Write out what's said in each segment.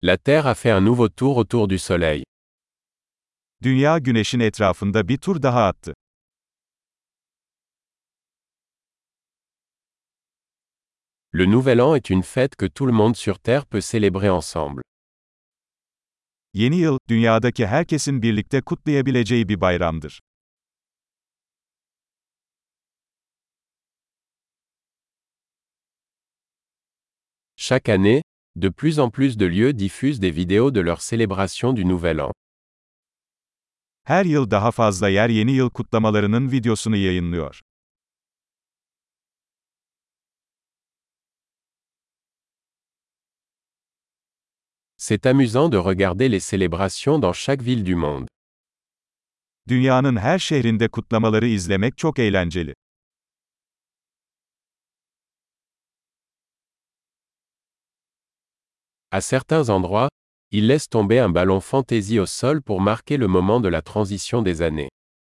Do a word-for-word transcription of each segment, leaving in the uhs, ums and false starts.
La Terre a fait un nouveau tour autour du Soleil. Dünya Güneş'in etrafında bir tur daha attı. Le Nouvel An est une fête que tout le monde sur Terre peut célébrer ensemble. Yeni yıl, dünyadaki herkesin birlikte kutlayabileceği bir bayramdır. Chaque année, de plus en plus de lieux diffusent des vidéos de leur célébration du Nouvel An. Her yıl daha fazla yer yeni yıl kutlamalarının videosunu yayınlıyor. C'est amusant de regarder les célébrations dans chaque ville du monde. Dünyanın her şehrinde kutlamaları izlemek çok eğlenceli. À certains endroits, ils laissent tomber un ballon fantaisie au sol pour marquer le moment de la transition des années.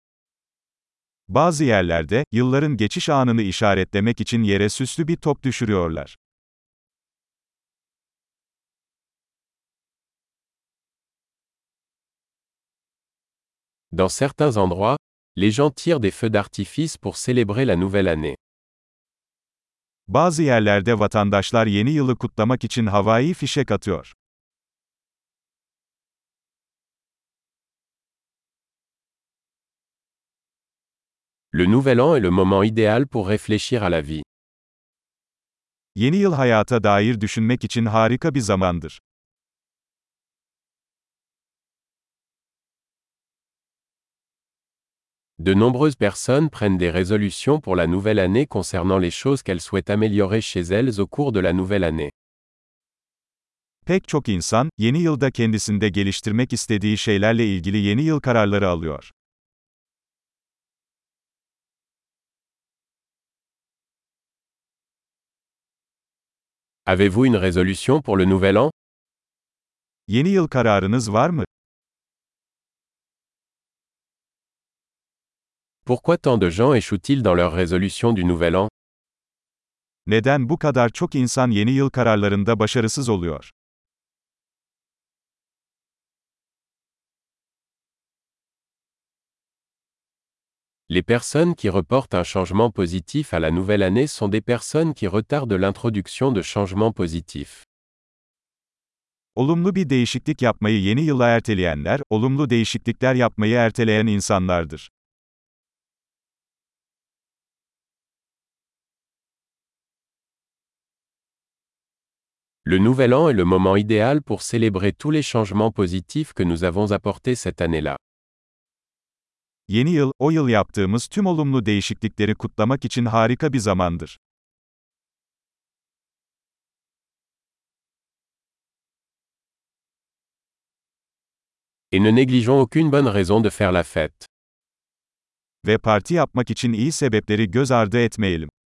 Bazı yerlerde, yılların geçiş anını işaretlemek için yere süslü bir top düşürüyorlar. Dans certains endroits, les gens tirent des feux d'artifice pour célébrer la nouvelle année. Bazı yerlerde vatandaşlar yeni yılı kutlamak için havai fişek atıyor. Le Nouvel An est le moment idéal pour réfléchir à la vie. Yeni yıl hayata dair düşünmek için harika bir zamandır. De nombreuses personnes prennent des résolutions pour la nouvelle année concernant les choses qu'elles souhaitent améliorer chez elles au cours de la nouvelle année. Pek çok insan, yeni yılda kendisinde geliştirmek istediği şeylerle ilgili yeni yıl kararları alıyor. Avez-vous une résolution pour le Nouvel An? Yeni yıl kararınız var mı? Pourquoi tant de gens échouent-ils dans leurs résolutions du Nouvel An? Neden bu kadar çok insan yeni yıl kararlarında başarısız oluyor? Les personnes qui reportent un changement positif à la nouvelle année sont des personnes qui retardent l'introduction de changements positifs. Olumlu bir değişiklik yapmayı yeni yıla erteleyenler, olumlu değişiklikler yapmayı erteleyen insanlardır. Le Nouvel An est le moment idéal pour célébrer tous les changements positifs que nous avons apportés cette année-là. Yeni yıl, o yıl yaptığımız tüm olumlu değişiklikleri kutlamak için harika bir zamandır. Et ne négligeons aucune bonne raison de faire la fête. Ve parti yapmak için iyi sebepleri göz ardı etmeyelim.